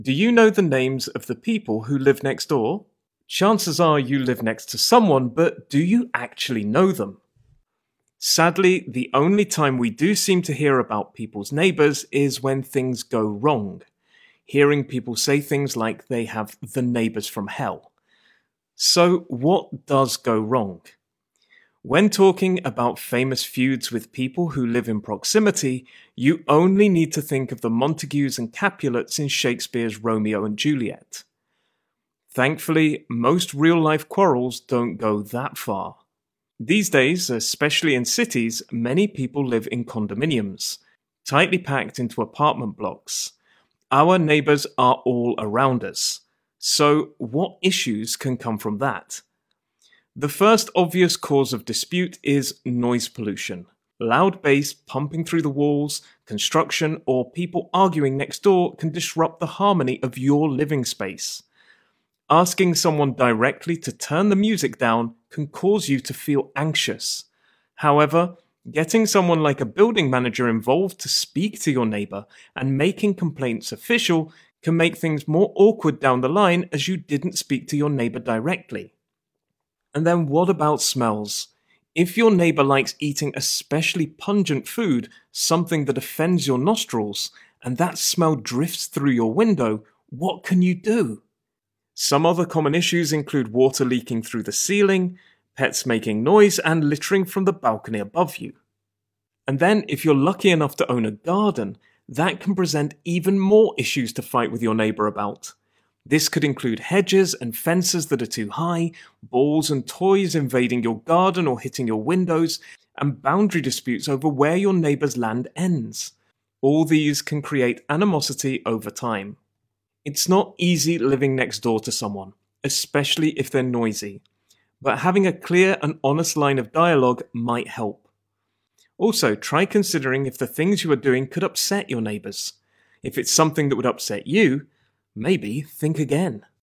Do you know the names of the people who live next door? Chances are you live next to someone, but do you actually know them? Sadly, the only time we do seem to hear about people's neighbours is when things go wrong. Hearing people say things like they have the neighbours from hell. So, what does go wrong? When talking about famous feuds with people who live in proximity, you only need to think of the Montagues and Capulets in Shakespeare's Romeo and Juliet. Thankfully, most real-life quarrels don't go that far. These days, especially in cities, many people live in condominiums, tightly packed into apartment blocks. Our neighbours are all around us. So, what issues can come from that? The first obvious cause of dispute is noise pollution. Loud bass pumping through the walls, construction, or people arguing next door can disrupt the harmony of your living space. Asking someone directly to turn the music down can cause you to feel anxious. However, getting someone like a building manager involved to speak to your neighbour and making complaints official can make things more awkward down the line as you didn't speak to your neighbour directly. And then what about smells? If your neighbour likes eating especially pungent food, something that offends your nostrils, and that smell drifts through your window, what can you do? Some other common issues include water leaking through the ceiling, pets making noise, and littering from the balcony above you. And then, if you're lucky enough to own a garden, that can present even more issues to fight with your neighbour about. This could include hedges and fences that are too high, balls and toys invading your garden or hitting your windows, and boundary disputes over where your neighbour's land ends. All these can create animosity over time. It's not easy living next door to someone, especially if they're noisy, but having a clear and honest line of dialogue might help. Also, try considering if the things you are doing could upset your neighbours. If it's something that would upset you, maybe think again.